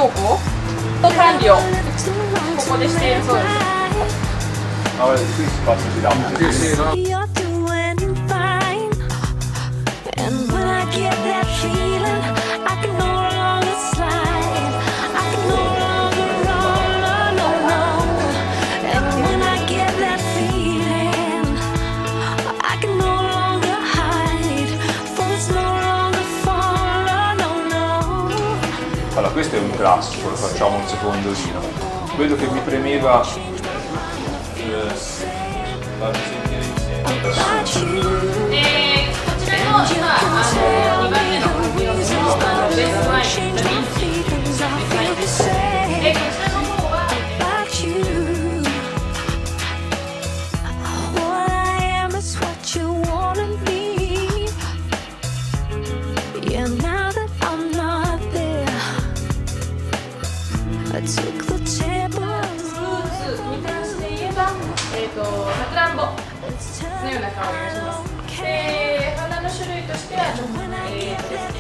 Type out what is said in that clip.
投稿と管理をここでしているそうです。 Aber das Füßpassen wieder ab. You're doing fine. And when I get that feeling, I can no longer slide. I can no longer roll, no, no, no. And when I get that feeling, I can no longer hide. For it's no longer fall, no, no, no. Allora, questo è un classico, lo facciamo un secondo giro. Quello che mi premeva farvi sentire insieme. こちらの今2番目のベースラインのリンチベースラインです。こちらの方は What I am is what you wanna be. Yeah, now that I'm not there, I took the table. フルーツに関して言えばさくらんぼのような香りがします。花の種類としては